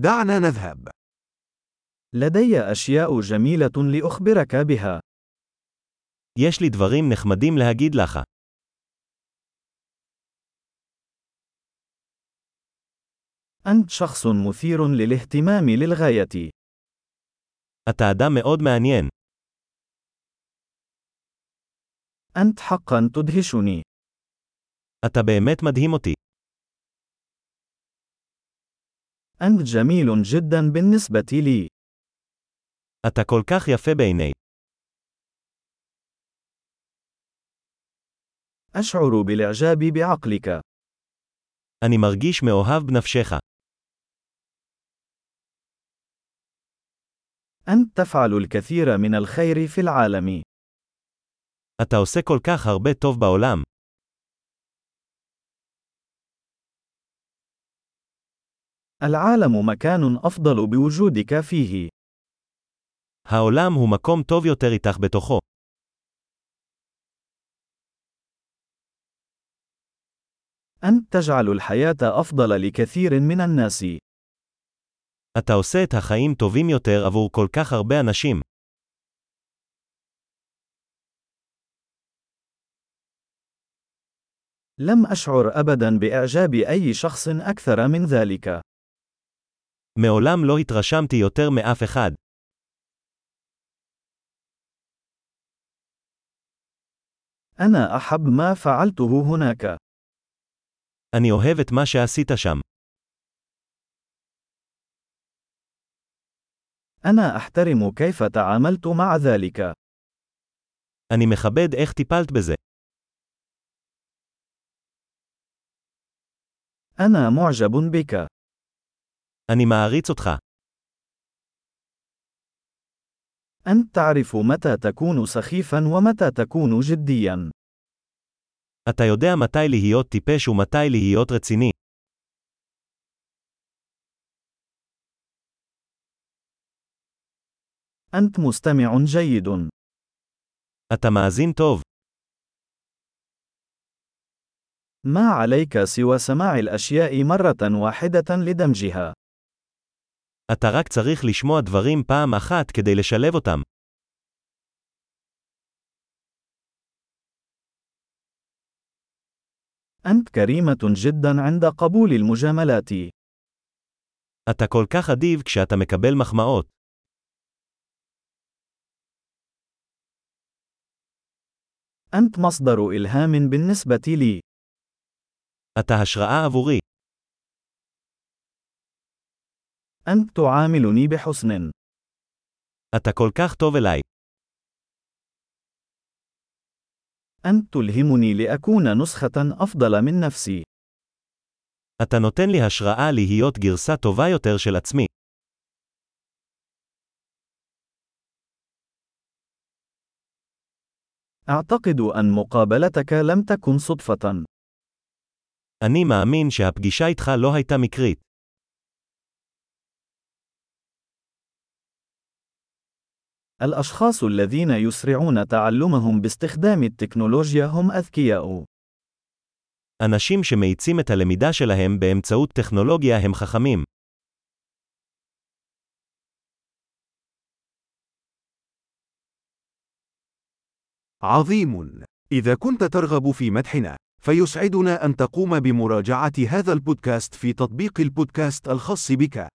دعنا نذهب. لدي أشياء جميلة لأخبرك بها. יש לי דברים נחמדים להגיד לך. أنت شخص مثير للاهتمام للغاية. אתה אדם מאוד מעניין. أنت حقا تدهشني. אתה באמת מדהים אותי. أنت جميل جدا بالنسبة لي. אתה כל כך יפה בעיני. أشعر بالإعجاب بعقلك. אני מרגיש מאוהב בנפשך. أنت تفعل الكثير من الخير في العالم. אתה עושה כל כך הרבה טוב בעולם. العالم مكان أفضل بوجودك فيه. העולם הוא מקום טוב יותר איתך בתוכו. أنت تجعل الحياة أفضل لكثير من الناس. אתה עושה את החיים טובים יותר עבור כל כך הרבה אנשים. لم أشعر أبدا بإعجاب أي شخص أكثر من ذلك. מעולם לא התרשמתי יותר מאף אחד. أنا أحب ما فعلته هناك. אני אוהב את מה שעשית שם. أنا أحترم كيف تعاملت مع ذلك. אני מכבד איך טיפלת בזה. أنا معجب بك. אני מעריץ אותך. أنت تعرف متى تكون سخيفا ومتى تكون جديا. אתה יודע מתי להיות טיפש ומתי להיות רציני. أنت مستمع جيد. אתה מאזין טוב. ما عليك سوى سماع الأشياء مرة واحدة لدمجها. אתה רק צריך לשמוע דברים פעם אחת כדי לשלב אותם. أنت كريمة جدا عند قبول المجاملات. אתה כל כך אדיב כשאתה מקבל מחמאות. أنت مصدر إلهام بالنسبة لي. אתה השראה עבורי. أنت تعاملني بحسن. אתה כל כך טוב אליי. أنت تلهمني لأكون نسخة أفضل من نفسي. אתה נותן לי השראה להיות גרסה טובה יותר של עצמי. أعتقد أن مقابلتك لم تكن صدفة. אני מאמין שהפגישה איתך לא הייתה מקרית. الأشخاص الذين يسرعون تعلمهم باستخدام التكنولوجيا هم أذكياء. אנשים שמאיצים את הלמידה שלהם באמצעות טכנולוגיה הם חכמים. عظيم. إذا كنت ترغب في مدحنا، فيسعدنا أن تقوم بمراجعة هذا البودكاست في تطبيق البودكاست الخاص بك.